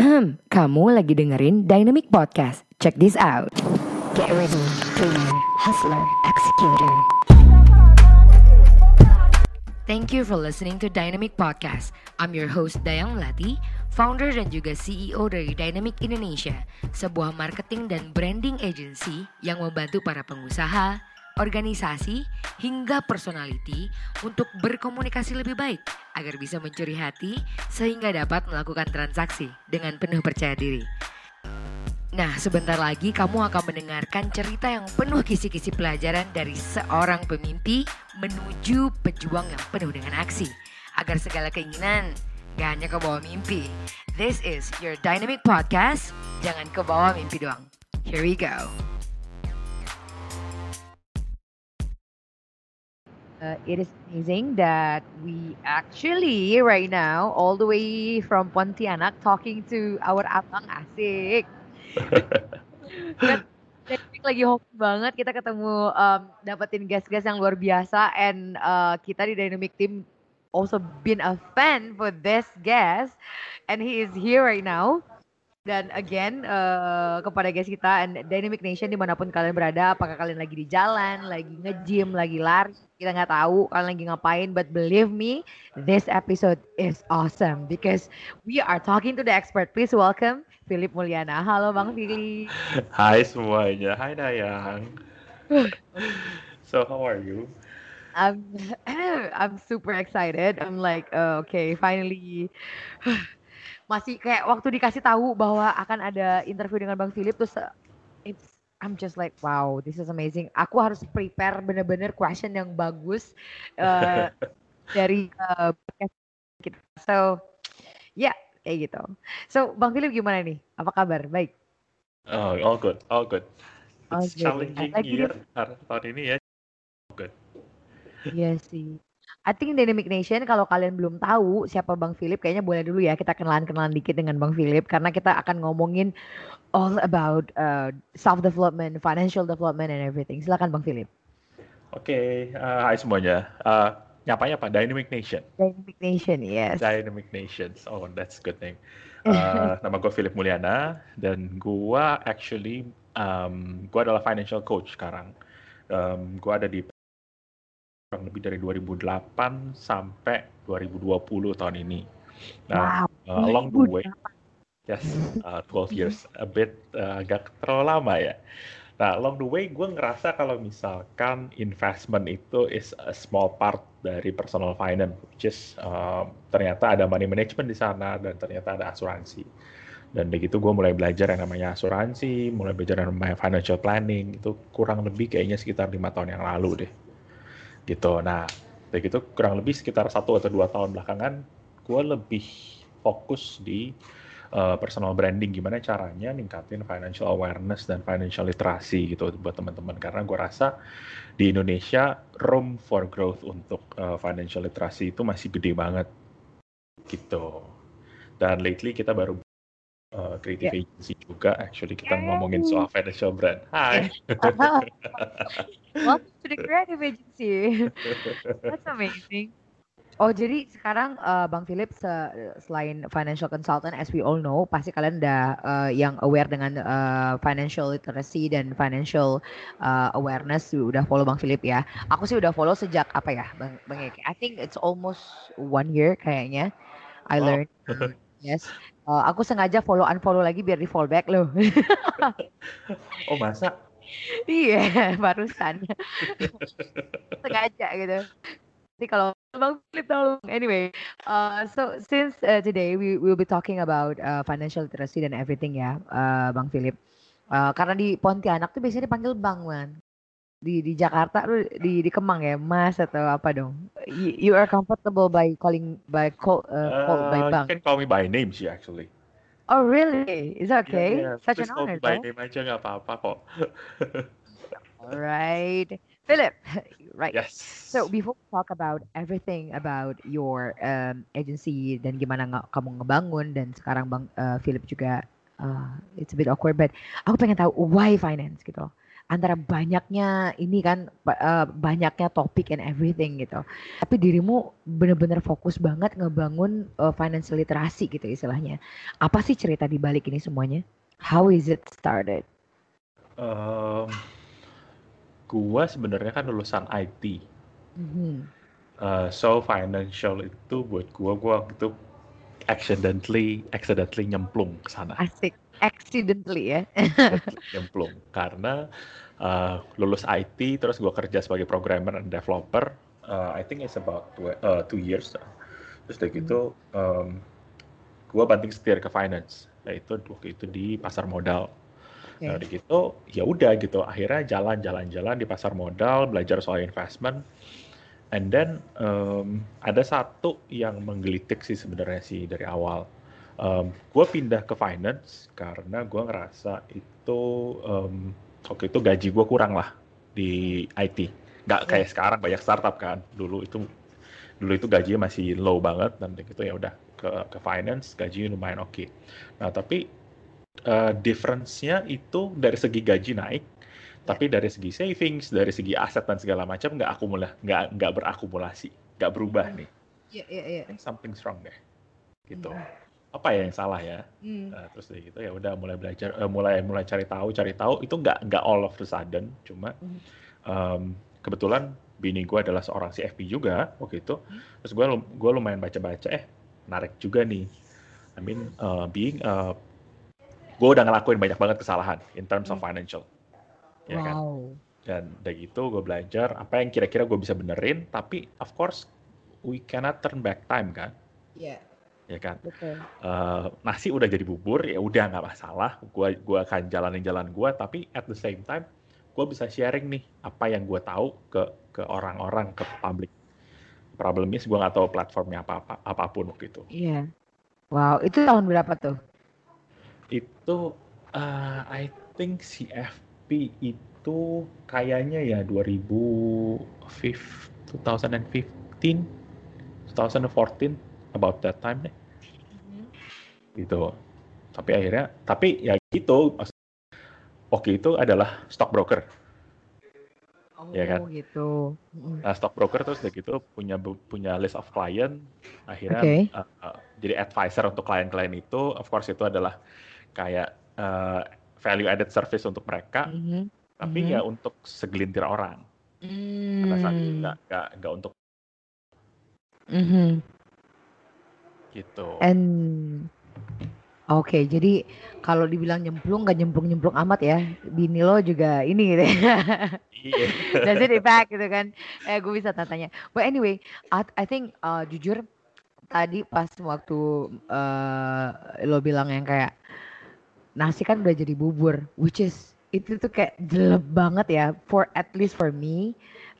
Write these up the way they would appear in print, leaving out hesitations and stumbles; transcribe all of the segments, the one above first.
Kamu lagi dengerin Dynamic Podcast. Check this out. Get ready, dreamer, hustler, executor. Thank you for listening to Dynamic Podcast. I'm your host Dayang Melati, founder dan juga CEO dari Dynamic Indonesia, sebuah marketing dan branding agency yang membantu para pengusaha, organisasi, hingga personality untuk berkomunikasi lebih baik agar bisa mencuri hati sehingga dapat melakukan transaksi dengan penuh percaya diri. Nah, sebentar lagi kamu akan mendengarkan cerita yang penuh kisi-kisi pelajaran dari seorang pemimpi menuju pejuang yang penuh dengan aksi agar segala keinginan gak hanya kebawa mimpi. This is your Dynamic Podcast. Jangan kebawa mimpi doang. Here we go. It is amazing that we actually right now all the way from Pontianak talking to our abang asik. Kan lagi hoki banget kita ketemu dapetin guest-guest yang luar biasa and kita di Dynamic Team also been a fan for this guest and he is here right now. Dan again kepada guys kita and Dynamic Nation dimanapun kalian berada, apakah kalian lagi di jalan, lagi nge-gym, lagi lari, kita nggak tahu kalian lagi ngapain, but believe me, this episode is awesome because we are talking to the expert. Please welcome Philip Mulyana. Halo Bang Philip. Hai semuanya, hai Dayang. So how are you? I'm super excited. I'm like okay, finally. Masih kayak waktu dikasih tahu bahwa akan ada interview dengan Bang Philip terus I'm just like wow, this is amazing. Aku harus prepare bener-bener question yang bagus dari podcast kita. So yeah, kayak gitu. So Bang Philip gimana nih? Apa kabar? Baik. Oh, all good, all good. It's Okay. challenging year tahun ini ya. Good. Iya sih. I think Dynamic Nation kalau kalian belum tahu siapa Bang Philip, kayaknya boleh dulu ya kita kenalan dikit dengan Bang Philip karena kita akan ngomongin all about self development, financial development and everything. Silakan Bang Philip. Oke, hai semuanya. Nyapanya apa? Dynamic Nation. Dynamic Nation, yes. Dynamic Nations. Oh, that's a good name. Nama gue Philip Mulyana dan gue actually gue adalah financial coach sekarang. Gue ada di kurang lebih dari 2008 sampai 2020 tahun ini. Nah, wow, along the way, yes, 12 years, a bit agak terlalu lama ya. Nah, along the way gue ngerasa kalau misalkan investment itu is a small part dari personal finance, which is ternyata ada money management di sana dan ternyata ada asuransi. Dan begitu gue mulai belajar yang namanya asuransi, mulai belajar yang namanya financial planning, itu kurang lebih kayaknya sekitar 5 tahun yang lalu deh. Gitu. Nah, begitu kurang lebih sekitar 1 atau 2 tahun belakangan, gue lebih fokus di personal branding, gimana caranya ningkatin financial awareness dan financial literacy gitu buat teman-teman. Karena gue rasa di Indonesia room for growth untuk financial literacy itu masih gede banget gitu. Dan lately kita baru creative agency juga, actually kita ngomongin soal financial brand. Hai. Welcome to the creative agency. That's amazing. Oh, jadi sekarang Bang Philip selain financial consultant, as we all know, pasti kalian udah yang aware dengan financial literacy dan financial awareness, udah follow Bang Philip ya. Aku sih udah follow sejak apa ya, Bang Eki? I think it's almost 1 year kayaknya. I learned. Yes. Aku sengaja unfollow lagi biar di follow back loh. Oh, masa? Iya, barusan. Sengaja gitu. Jadi kalau Bang Philip tolong. Anyway, so since today we will be talking about financial literacy dan everything ya, Bang Philip. Karena di Pontianak tuh biasanya dipanggil Bang, man. Di Jakarta tuh di Kemang ya, Mas atau apa dong? You are comfortable by called by Bang. You can call me by name sih actually. Oh really? Is that okay? Yeah, Such please an call honor, me by though. name aja nggak apa-apa kok. Alright, Philip. Right. Yes. So before we talk about everything about your agency dan gimana kamu ngebangun dan sekarang Bang Philip juga it's a bit awkward, but aku pengen tahu why finance gitu. antara banyaknya ini kan banyaknya topik and everything gitu. Tapi dirimu bener-bener fokus banget ngebangun financial literasi gitu istilahnya. Apa sih cerita di balik ini semuanya? How is it started? Em, gua sebenarnya kan lulusan IT. Mhm. So financial itu buat gua waktu itu accidentally nyemplung ke sana. Asik. Accidentally ya. Accidentally nyemplung karena lulus IT terus gua kerja sebagai programmer and developer. I think it's about 2 years. Terus dari gitu gua banting setir ke finance. Yaitu waktu itu di pasar modal. Nah, Oke. dari gitu ya udah gitu. Akhirnya jalan-jalan di pasar modal, belajar soal investment. And then ada satu yang menggelitik sih sebenarnya sih dari awal. Gue pindah ke finance karena gue ngerasa itu waktu itu gaji gue kurang lah di IT. Nggak Ya. kayak sekarang banyak startup kan. Dulu itu gajinya masih low banget dan gitu ya udah ke finance gajinya lumayan oke. Nah tapi difference-nya itu dari segi gaji naik, Ya. tapi dari segi savings, dari segi aset dan segala macam nggak berakumulasi, nggak berubah nih. Ya, ya, ya. I think something wrong deh, gitu. Mm. Apa ya yang salah ya? Mm. Terus dari gitu ya udah mulai belajar, mulai cari tahu itu nggak all of the sudden, cuma Mm. kebetulan bini gue adalah seorang CFP juga waktu itu, terus gue lumayan baca-baca, menarik juga nih. I mean, gue udah ngelakuin banyak banget kesalahan in terms of Mm. financial, ya kan? Wow. Dan dari itu gue belajar apa yang kira-kira gue bisa benerin, tapi of course we cannot turn back time kan, Ya, ya kan? betul. Nasi udah jadi bubur, ya udah nggak masalah, gue akan jalanin jalan gue, tapi at the same time gue bisa sharing nih apa yang gue tahu ke orang-orang, ke publik. Problemnya gue nggak tahu platformnya apapun waktu itu. Iya. Wow, itu tahun berapa tuh? Itu I think CFP itu kayaknya ya 2015, 2014, about that time deh, Mhm. gitu. Tapi ya gitu, oke itu adalah stockbroker, ya kan? Oh gitu. Mm. Nah, stockbroker terus udah gitu punya list of client, akhirnya Oke. jadi advisor untuk klien-klien itu, of course itu adalah kayak value added service untuk mereka, Mhm. tapi ya Mhm. untuk segelintir orang. Pada saat itu Hmm. nggak untuk Mhm. gitu. And oke, jadi kalau dibilang nyemplung nggak nyemplung-nyemplung amat ya. Bini lo juga ini gitu ya. Iya. Does it impact gitu kan? Gue bisa tanya. But anyway, I think jujur tadi pas waktu lo bilang yang kayak nasi kan udah jadi bubur, which is itu tuh kayak jelek banget ya. For at least for me,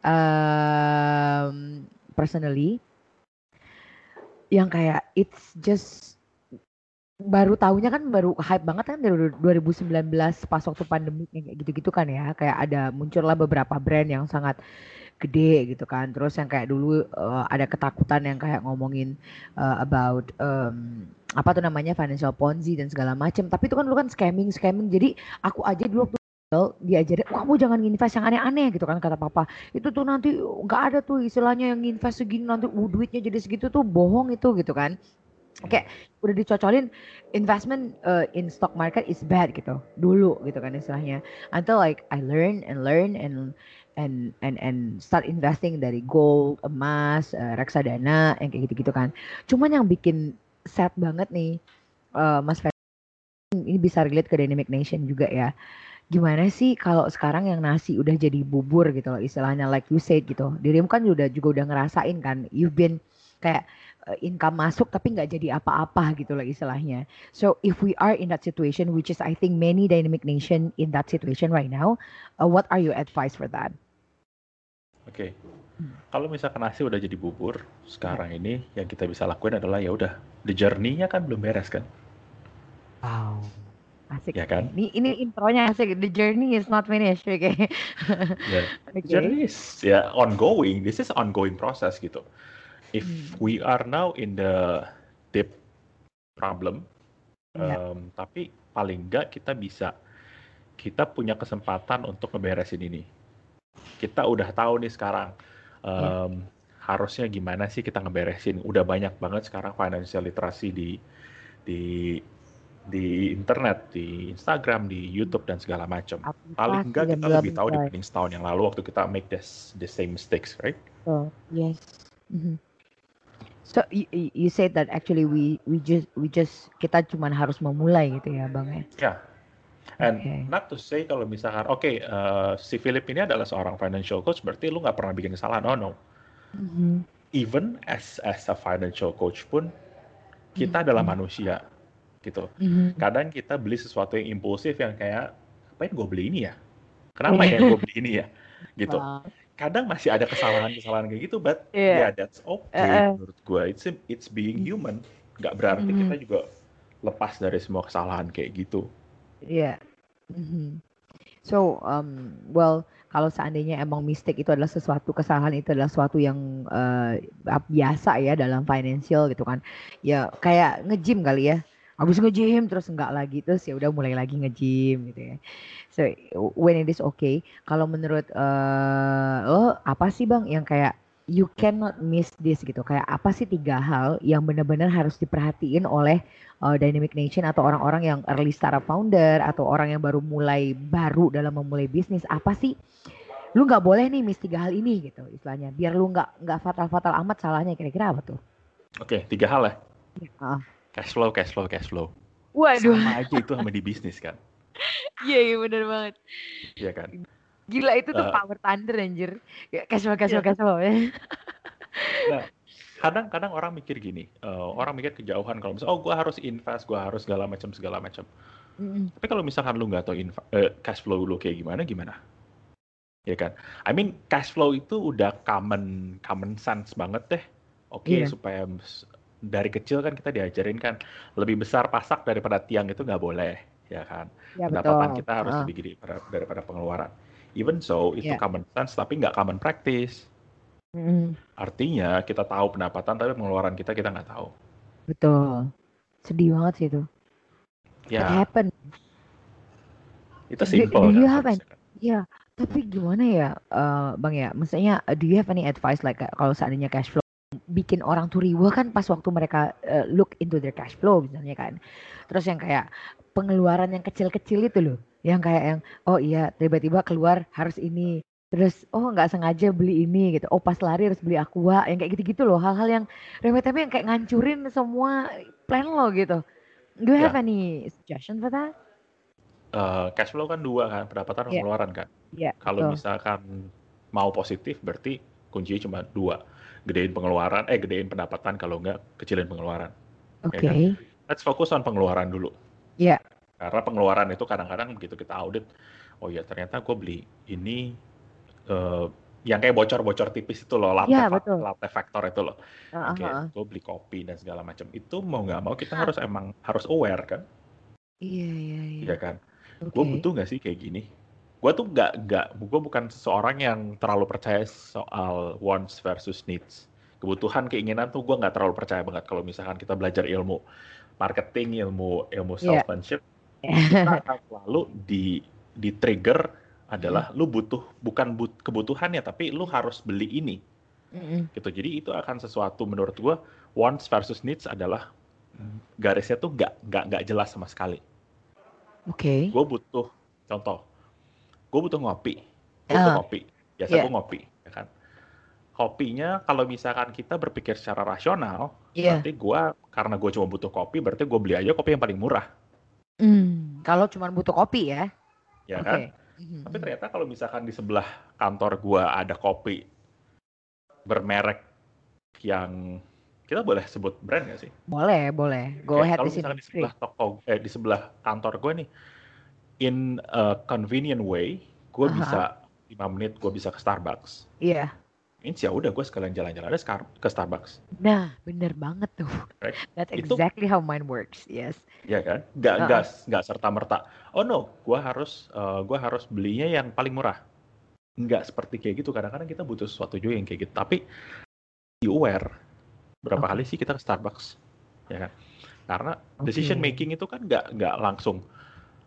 personally, yang kayak it's just baru tahunya kan baru hype banget kan dari 2019 pas waktu pandemi kayak gitu-gitu kan ya kayak ada muncullah beberapa brand yang sangat gede gitu kan terus yang kayak dulu ada ketakutan yang kayak ngomongin about apa tuh namanya financial ponzi dan segala macam tapi itu kan dulu kan scamming jadi aku aja dulu waktu kecil diajarin kamu jangan invest yang aneh-aneh gitu kan kata papa itu tuh nanti nggak ada tuh istilahnya yang invest segini nanti duitnya jadi segitu tuh bohong itu gitu kan kayak udah dicocolin investment in stock market is bad gitu dulu gitu kan istilahnya until like I learn and start investing dari gold emas reksadana yang kayak gitu-gitu kan cuman yang bikin sad banget nih Mas Ferry ini bisa relate ke Dynamic Nation juga ya gimana sih kalau sekarang yang nasi udah jadi bubur gitu loh istilahnya like you said gitu dirimu kan juga udah ngerasain kan you've been kayak income masuk tapi nggak jadi apa-apa gitu loh istilahnya so if we are in that situation which is I think many dynamic nation in that situation right now what are your advice for that. Oke. Hmm. Kalau misalkan nasi udah jadi bubur, Ya. sekarang ini yang kita bisa lakuin adalah ya udah, the journey-nya kan belum beres kan, Wow, asik ya nih. kan? Ini intronya asik. The journey is not finished. Oke. Ya, the Oke. journey is ya ongoing. This is ongoing process gitu. If Hmm. we are now in the deep problem, Ya. tapi paling nggak kita bisa kita punya kesempatan untuk ngeberesin ini. Kita udah tahu nih sekarang Ya. harusnya gimana sih kita ngeberesin. Udah banyak banget sekarang financial literacy di di internet, di Instagram, di YouTube dan segala macam. Paling Aplikasi enggak dan kita bla lebih tahu bla. dibanding setahun yang lalu waktu kita make the same mistakes, right? So, yes. Mhm. So you said that actually we just kita cuman harus memulai gitu ya, Bang ya. Ya, and Oke. not to say kalau misalkan, si Philip ini adalah seorang financial coach, berarti lu nggak pernah bikin kesalahan. Oh no. Mhm. Even as a financial coach pun, kita adalah Mhm. manusia, gitu. Mhm. Kadang kita beli sesuatu yang impulsif yang kayak, ngapain gue beli ini ya? Kenapa ya gue Iya. beli ini ya? Gitu. Wow. Kadang masih ada kesalahan-kesalahan kayak gitu, but Iya. yeah, that's okay Heeh. menurut gue. It's being Mhm. human. Nggak berarti Mhm. kita juga lepas dari semua kesalahan kayak gitu. Iya. Mhm. So, well, kalau seandainya emang mistake itu adalah sesuatu kesalahan itu adalah sesuatu yang biasa ya dalam financial gitu kan. Ya kayak nge-gym kali ya. Habis nge-gym terus enggak lagi terus ya udah mulai lagi nge-gym gitu ya. So, when it is okay, kalau menurut lo apa sih Bang yang kayak you cannot miss this gitu. Kayak apa sih 3 hal yang benar-benar harus diperhatiin oleh Dynamic Nation atau orang-orang yang early startup founder atau orang yang baru dalam memulai bisnis, apa sih lu nggak boleh nih miss 3 hal ini gitu istilahnya biar lu nggak fatal-fatal amat salahnya, kira-kira apa tuh? Oke, 3 hal ya. Ya, ah. Cash flow, cash flow, cash flow. Waduh. Sama aja itu sama di bisnis kan. Iya, iya bener banget. Iya kan? Gila itu tuh Eh, power thunder anjir. Ya, cash flow, cash iya flow, kan? cash flow. Nah, kadang-kadang orang mikir gini, orang mikir kejauhan kalau misalnya, oh gue harus invest, gue harus segala macam segala macam. Mm-mm. Tapi kalau misalkan lu nggak tahu cash flow lu kayak gimana, gimana? Ya kan? I mean, cash flow itu udah common sense banget deh. Oke, Iya, supaya dari kecil kan kita diajarin kan lebih besar pasak daripada tiang itu nggak boleh, ya kan? ya Pendapatan betul. kita harus Ah, lebih gede daripada pengeluaran. Even so, itu ya. common sense tapi nggak common practice. Mm-mm. Artinya kita tahu pendapatan tapi pengeluaran kita nggak tahu. Betul. Sedih banget sih itu. That Ya, happen. itu Do simple you kan have any? harusnya kan. Ya, tapi gimana ya, Bang ya? Maksudnya, do you have any advice like kalau seandainya cash flow bikin orang tuh riweh kan pas waktu mereka look into their cash flow misalnya kan. Terus yang kayak pengeluaran yang kecil-kecil itu loh, yang kayak yang oh iya tiba-tiba keluar harus ini. Terus oh nggak sengaja beli ini gitu. Oh pas lari harus beli aqua yang kayak gitu-gitu loh. Hal-hal yang remeh-temeh yang kayak ngancurin semua plan lo gitu. Do you have Ya, any suggestion for that? cash flow kan dua kan, pendapatan dan Iya, pengeluaran kan. iya, Kalau betul. misalkan mau positif berarti kuncinya cuma dua. Gedein pendapatan, kalau nggak kecilin pengeluaran. Ya kan? Oke. Let's focus on pengeluaran dulu. Iya, Karena pengeluaran itu kadang-kadang begitu kita audit, oh ya ternyata gue beli ini eh, yang kayak bocor-bocor tipis itu loh, iya betul. latte factor itu loh. Heeh, Oke, heeh. gue beli kopi dan segala macam. Itu mau nggak mau kita harus aware kan, Iya, iya, iya. ya kan? Gue Oke. butuh nggak sih kayak gini? Gue bukan seseorang yang terlalu percaya soal wants versus needs. Kebutuhan, keinginan tuh gue nggak terlalu percaya banget. Kalau misalkan kita belajar ilmu marketing, ilmu Iya. salesmanship, kita akan selalu di trigger adalah lu butuh, bukan kebutuhannya, tapi lu harus beli ini Mm-mm. gitu. Jadi itu akan sesuatu, menurut gue wants versus needs adalah garisnya tuh nggak jelas sama sekali. Oke. Gue butuh, contoh, gue butuh ngopi, Ah, biasa iya, gue ngopi, ya kan. Kopinya kalau misalkan kita berpikir secara rasional, iya. berarti karena gue cuma butuh kopi, berarti gue beli aja kopi yang paling murah, Kalau cuma butuh kopi ya. ya Oke. kan. Mhm, Tapi mhm. ternyata kalau misalkan di sebelah kantor gue ada kopi bermerek yang kita boleh sebut brand nggak sih? Boleh, boleh. Go Oke, ahead kalau di sini. misalkan Free. di sebelah kantor gue nih, in a convenient way, gue Aha. bisa 5 menit gue bisa ke Starbucks. Iya. Means ya udah gue sekalian jalan-jalan aja ke Starbucks, Nah, bener banget tuh. right? That's Itu exactly how mine works. Yes. ya kan, nggak nggak Heeh. nggak serta merta. Oh no, gue harus belinya yang paling murah. Nggak seperti kayak gitu. Kadang-kadang kita butuh sesuatu juga yang kayak gitu. Tapi be aware berapa kali Oke. sih kita ke Starbucks, ya kan? Karena decision Oke. making itu kan nggak langsung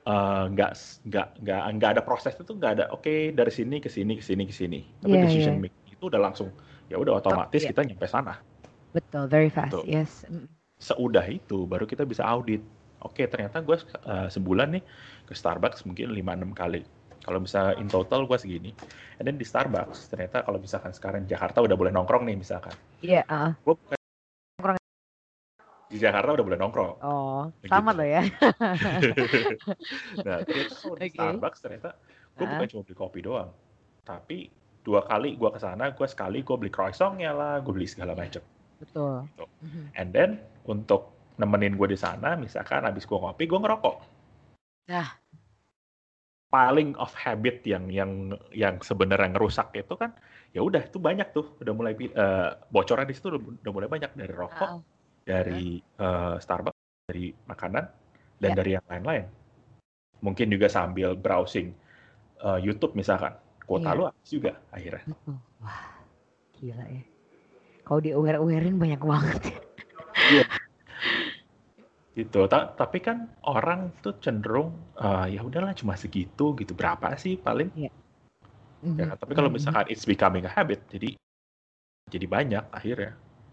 nggak ada proses itu, nggak ada oke dari sini ke sini ke sini ke sini, tapi Iya, decision iya. making itu udah langsung, ya udah otomatis Iya, kita nyampe sana betul, very fast. gitu. Yes. Seudah itu baru kita bisa audit. Oke, ternyata gue sebulan nih ke Starbucks mungkin 5-6 kali. Kalau bisa in total gue segini. And then di Starbucks, ternyata kalau misalkan sekarang di Jakarta udah boleh nongkrong nih misalkan. Iya, Gue Nongkrong. di Jakarta udah boleh nongkrong. Oh, Begitu. sama loh ya. Nah, ternyata kalau di Oke. Starbucks ternyata gue bukan Ah, cuma beli kopi doang. Tapi 2 kali gue ke sana, gue sekali gue beli croissantnya lah, gue beli segala iya, macam. betul. Gitu. Mhm. And then untuk nemenin gue di sana, misalkan habis gue ngopi, gue ngerokok. Nah, Paling of habit yang sebenarnya ngerusak itu kan, ya udah itu banyak tuh udah mulai bocoran di situ udah mulai banyak dari rokok, ah, ah, dari Starbucks, dari makanan dan ya, dari yang lain-lain. Mungkin juga sambil browsing YouTube misalkan, kuota iya, lu habis juga akhirnya. betul. Wah, gila ya. Kalau di aware-awarein banyak banget. Iya. Gitu. Tapi kan orang tuh cenderung ya udahlah cuma segitu gitu, berapa sih paling, Iya. ya Mhm, kan? Tapi kalau mhm. misalkan it's becoming a habit, jadi banyak akhirnya.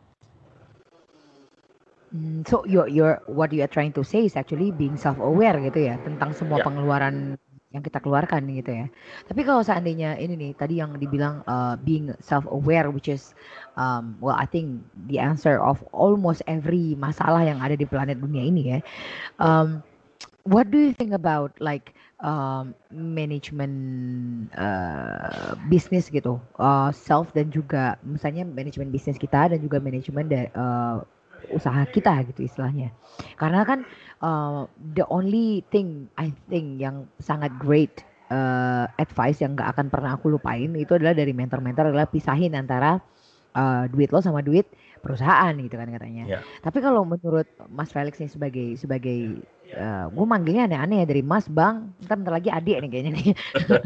So your what you are trying to say is actually being self-aware gitu ya tentang semua Ya, pengeluaran yang kita keluarkan gitu ya. Tapi kalau seandainya ini nih tadi yang dibilang being self-aware, which is well I think the answer of almost every masalah yang ada di planet dunia ini ya. betul. Um, what do you think about like manajemen bisnis gitu, self dan juga misalnya manajemen bisnis kita dan juga manajemen usaha kita gitu istilahnya. Karena kan the only thing I think yang sangat great advice yang nggak akan pernah aku lupain itu adalah dari mentor-mentor adalah pisahin antara duit lo sama duit perusahaan gitu kan katanya. Ya. Tapi kalau menurut Mas Felix nih sebagai gue manggilnya aneh-aneh ya dari Mas Bang, bentar lagi adik nih kayaknya nih.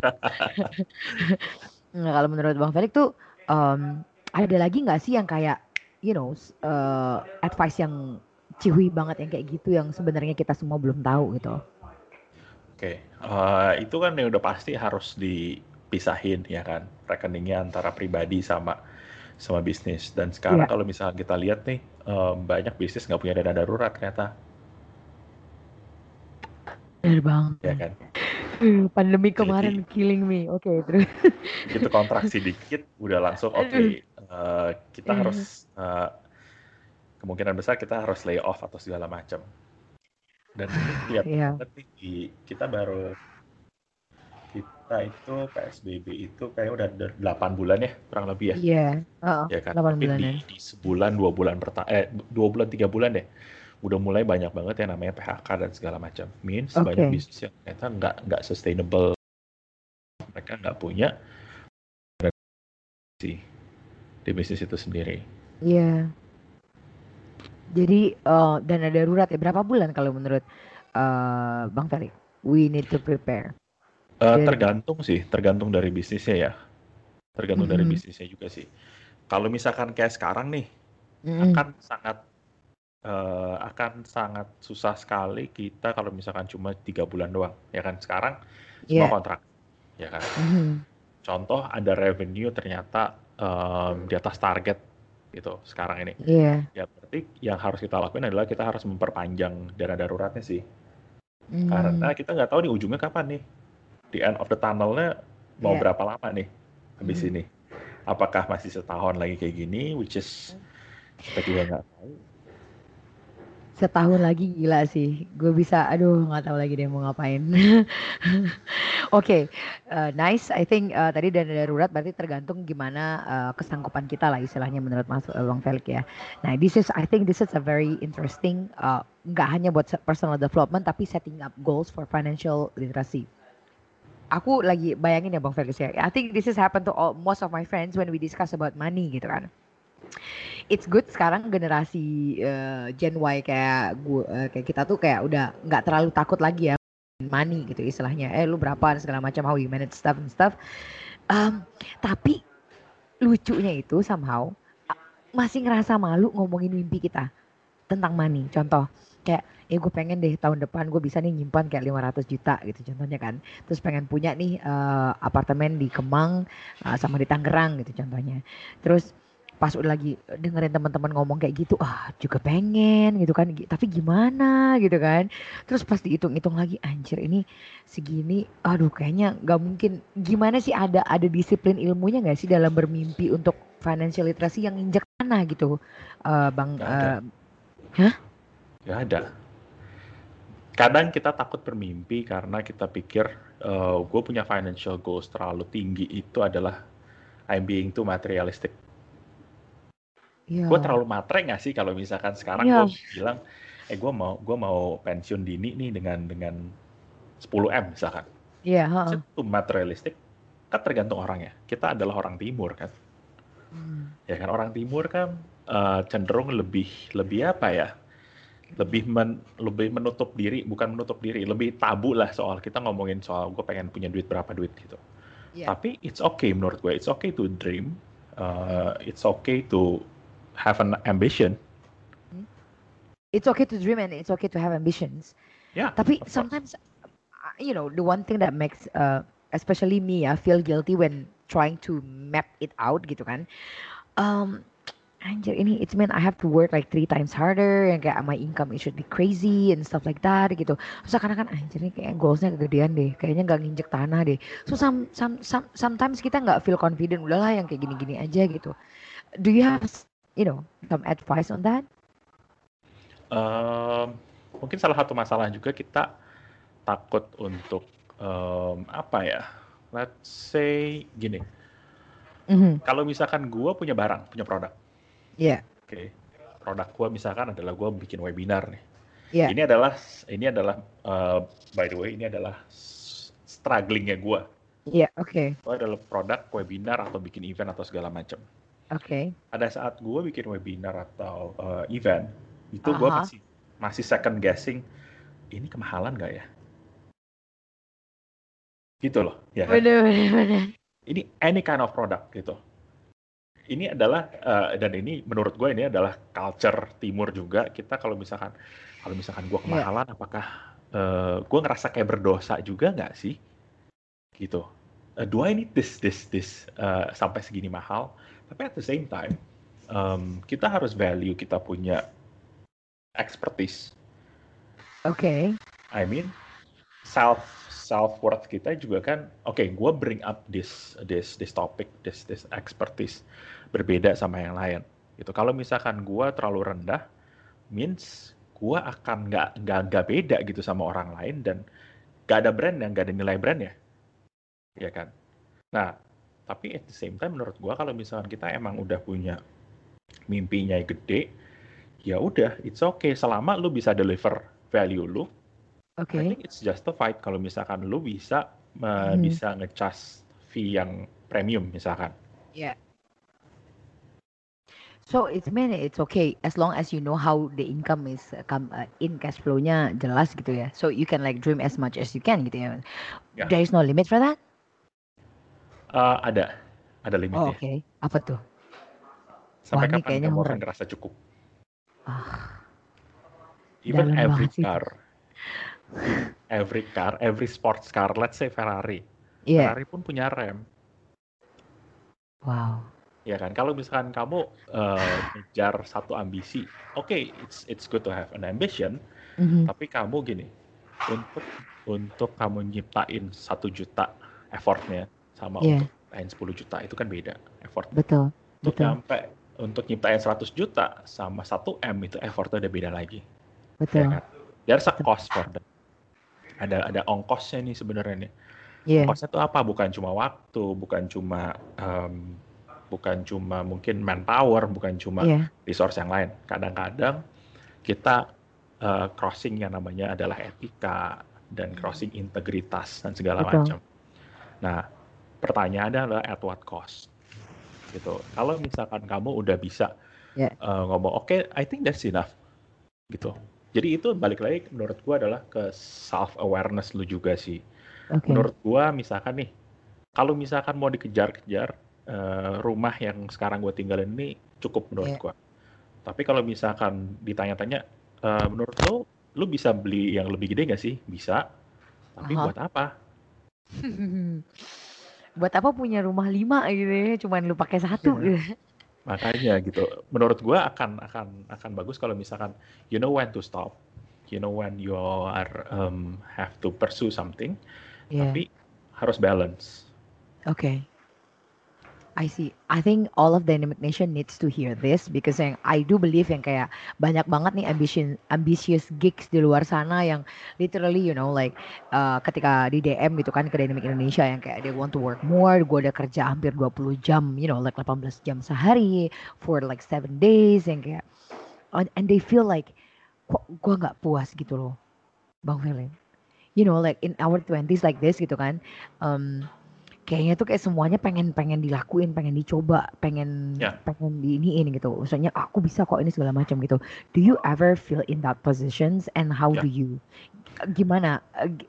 Nah, kalau menurut Bang Felix tuh ada lagi nggak sih yang kayak you know advice yang cihui banget yang kayak gitu yang sebenarnya kita semua belum tahu gitu. Oke, itu kan yang udah pasti harus dipisahin ya kan, rekeningnya antara pribadi sama bisnis. Dan sekarang Iya, kalau misalnya kita lihat nih, banyak bisnis nggak punya dana darurat ternyata, bener banget. ya kan. Pandemi Jadi kemarin killing me. Oke, terus. begitu kontraksi dikit, udah langsung oke, Aduh. kita harus kemungkinan besar kita harus lay off atau segala macam. Dan ini kelihatan Ya, banget nih kita itu PSBB itu kayak udah 8 bulan ya kurang lebih ya. iya, heeh, Ya kan, 8 tapi bulanan. di sebulan 2 bulan 2 bulan 3 bulan deh udah mulai banyak banget yang namanya PHK dan segala macam, means banyak Oke, bisnis yang ternyata nggak sustainable, mereka nggak punya sih di bisnis itu sendiri. iya. Jadi dana darurat ya berapa bulan kalau menurut Bang Ferry? We need to prepare. Dari, Tergantung dari bisnisnya ya, tergantung dari mm-mm, bisnisnya juga sih. Kalau misalkan kayak sekarang nih, mm-mm, akan sangat akan sangat susah sekali kita kalau misalkan cuma 3 bulan doang, ya kan? Sekarang semua ya, kontrak, ya kan? mhm, Contoh ada revenue ternyata di atas target gitu sekarang ini. iya, Ya berarti yang harus kita lakuin adalah kita harus memperpanjang dana daruratnya sih. Karena mm, kita nggak tahu nih ujungnya kapan nih. Di end of the tunnel-nya mau iya, berapa lama nih habis mhm. ini. Apakah masih setahun lagi kayak gini, which is kita juga nggak tahu. Setahun lagi gila sih. Gue bisa, aduh nggak tahu lagi deh mau ngapain. Oke, nice. I think tadi dana darurat berarti tergantung gimana kesanggupan kita lah istilahnya menurut Mas Bang Felix ya. Nah, I think this is a very interesting, nggak hanya buat personal development tapi setting up goals for financial literacy. Aku lagi bayangin ya Bang Felix ya. I think this has happened to most of my friends when we discuss about money gitu kan. It's good sekarang generasi Gen Y kayak kayak kita tuh kayak udah nggak terlalu takut lagi ya money gitu istilahnya. Lu berapa dan segala macam how you manage stuff and stuff. Um, tapi lucunya itu somehow masih ngerasa malu ngomongin mimpi kita tentang money. Contoh kayak gue pengen deh tahun depan gue bisa nih nyimpan kayak 500 juta gitu contohnya kan. Terus pengen punya nih apartemen di Kemang sama di Tangerang gitu contohnya. Terus pas udah lagi dengerin teman-teman ngomong kayak gitu, juga pengen gitu kan. Tapi gimana gitu kan. Terus pas dihitung-hitung lagi, anjir ini segini, aduh kayaknya nggak mungkin. Gimana sih ada disiplin ilmunya nggak sih dalam bermimpi untuk financial literacy yang injak tanah gitu, Bang? Nggak ada, Hah? nggak ada. Kadang kita takut bermimpi karena kita pikir gue punya financial goals terlalu tinggi itu adalah I'm being too materialistic. Gue Iya, terlalu matre nggak sih kalau misalkan sekarang gue iya, bilang, gue mau pensiun dini nih dengan 10 M misalkan. iya, Is heeh. it too materialistic? Kan tergantung orangnya. Kita adalah orang timur kan. Hmm. Ya kan orang timur kan cenderung lebih lebih apa ya? Lebih menutup diri, bukan menutup diri, lebih tabu lah soal kita ngomongin soal gue pengen punya duit berapa duit gitu. Iya. Tapi it's okay menurut gue, it's okay to dream, it's okay to have an ambition. Hmm. It's okay to dream and it's okay to have ambitions. Yeah, Tapi of course. sometimes, the one thing that makes, especially me, feel guilty when trying to map it out gitu kan. Um, Anjir ini it's mean I have to work like 3 times harder and kayak my income it should be crazy and stuff like that gitu. Terus karena kan anjir ini kayak goalsnya kegedean deh, kayaknya nggak nginjek tanah deh. So sometimes kita nggak feel confident, udahlah yang kayak gini-gini aja gitu. Do you have some advice on that? Um, Mungkin salah satu masalah juga kita takut untuk apa ya? Let's say gini, Mhm. kalau misalkan gue punya barang, punya produk, Iya, oke, produk gue misalkan adalah gue bikin webinar nih. iya, Ini adalah by the way ini adalah strugglingnya gue. iya, oke, Gue adalah produk webinar atau bikin event atau segala macam. oke. Pada saat gue bikin webinar atau event, itu gue Aha, masih masih second guessing, ini kemahalan nggak ya? Gitu loh, ya kan? bener bener bener. Ini any kind of product gitu. Ini adalah dan ini menurut gue ini adalah culture timur juga. Kita kalau misalkan gue Iya, kemahalan, apakah gue ngerasa kayak berdosa juga nggak sih? Gitu. Do I need this sampai segini mahal? Tapi at the same time, kita harus value kita punya expertise. oke. I mean, self worth kita juga kan, oke, gue bring up this topic, this expertise berbeda sama yang lain. Gitu. Kalau misalkan gue terlalu rendah, means gue akan nggak beda gitu sama orang lain dan nggak ada brand yang nggak ada nilai brand ya kan. Nah, tapi at the same time menurut gue kalau misalkan kita emang udah punya mimpinya gede, ya udah, it's okay selama lu bisa deliver value lu. I Oke. think it's justified kalau misalkan lu bisa Mhm. bisa nge-charge fee yang premium misalkan. Iya. So it's okay as long as you know how the income is come in cash flow-nya jelas gitu ya. So you can like dream as much as you can gitu ya. Ya, There is no limit for that? ada Oh, limitnya. oke. Apa tuh? Wah, Sampai ini kapan kayaknya kamu akan horor. ngerasa cukup? Ah, Even dalam every banget sih. car, every sports car, let's say Ferrari. Iya. Ferrari pun punya rem. Wow. Ya kan, kalau misalkan kamu ngejar satu ambisi, oke, it's good to have an ambition, Mhm. tapi kamu gini, untuk untuk kamu nyiptain 1 juta effortnya sama untuk Iya, nyiptain 10 juta itu kan beda effortnya. betul. Untuk Betul. untuk nyiptain 100 juta sama 1 M itu effortnya udah beda lagi, ya Betul. kan? There's a Betul. cost for that. Ada ongkosnya nih sebenarnya nih. Iya. Ongkosnya tuh apa? Bukan cuma waktu, bukan cuma mungkin manpower, bukan cuma Iya. resource yang lain. Kadang-kadang kita crossing yang namanya adalah etika dan Mhm. crossing integritas dan segala Betul. macam. Nah, pertanyaannya adalah at what cost? Gitu. Kalau misalkan kamu udah bisa Iya. ngomong, oke, I think that's enough. Gitu. Jadi itu balik lagi menurut gua adalah ke self awareness lu juga sih. Oke. Menurut gua misalkan nih, kalau misalkan mau dikejar-kejar rumah yang sekarang gue tinggalin ini cukup menurut Iya. gua. Tapi kalau misalkan ditanya-tanya, menurut lo lu bisa beli yang lebih gede nggak sih? Bisa. Tapi Aha. buat apa? Buat apa punya rumah 5 gitu ya, cuman lu pakai satu Iya. gitu. Makanya gitu. Menurut gua akan bagus kalau misalkan you know when to stop. You know when you are have to pursue something, Iya, tapi harus balance. oke. I see. I think all of Dynamic Nation needs to hear this because yang I do believe yang kayak banyak banget nih ambitious gigs di luar sana yang literally like ketika di DM gitu kan ke Dynamic Indonesia yang kayak they want to work more, gue udah kerja hampir 20 jam, like 18 jam sehari for like 7 days yang kayak and they feel like kok gue nggak puas gitu loh, Bang Felix. Like in our 20s like this gitu kan. Um, Kayaknya tuh kayak semuanya pengen pengen dilakuin, pengen dicoba, pengen Ya, pengen diiniin gitu. Maksudnya aku bisa kok ini segala macam gitu. Do you ever feel in that positions and how ya. do you gimana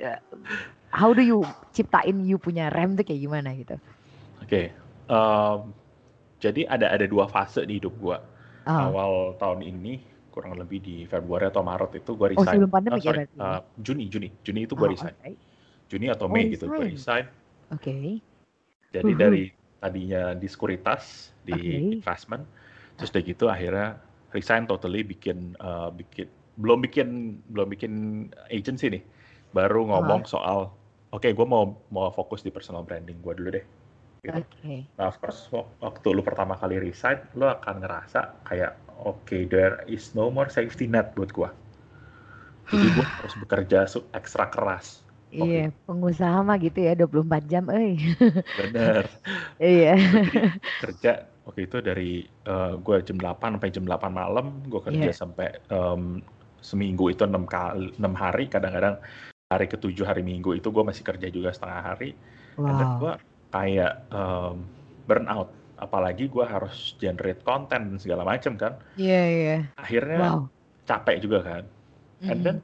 how do you ciptain you punya rem tuh kayak gimana gitu? Oke. Em, jadi ada dua fase di hidup gua. Ah, Awal tahun ini kurang lebih di Februari atau Maret itu gua oh resign. sebelum pandemik ya Sorry, berarti ya? Juni itu gua Ah, resign. oke. Juni atau Oh Mei gitu gua resign. resign. Oke. Jadi dari tadinya di sekuritas, di Oke. investment, terus udah gitu akhirnya resign totally bikin belum bikin agency nih. Baru Ah, ngomong soal oke gue mau fokus di personal branding gue dulu deh gitu. oke. Nah, of course waktu lu pertama kali resign, lu akan ngerasa kayak oke, there is no more safety net buat gue. Jadi gue harus bekerja ekstra keras waktu Iya, itu. pengusaha mah gitu ya 24 jam, Bener. Iya. Gitu. Jadi kerja waktu itu dari gue jam 8 sampai jam 8 malam, gue kerja Iya. sampai seminggu itu 6 hari, kadang-kadang hari ketujuh hari Minggu itu gue masih kerja juga setengah hari, and then Wow. gue kayak burn out, apalagi gue harus generate konten dan segala macam kan, Iya, iya. akhirnya Wow. capek juga kan, and then Mhm.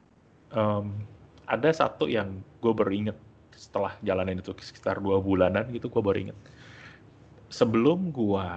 ada satu yang gue baru inget setelah jalanin itu sekitar 2 bulanan gitu, gue baru inget sebelum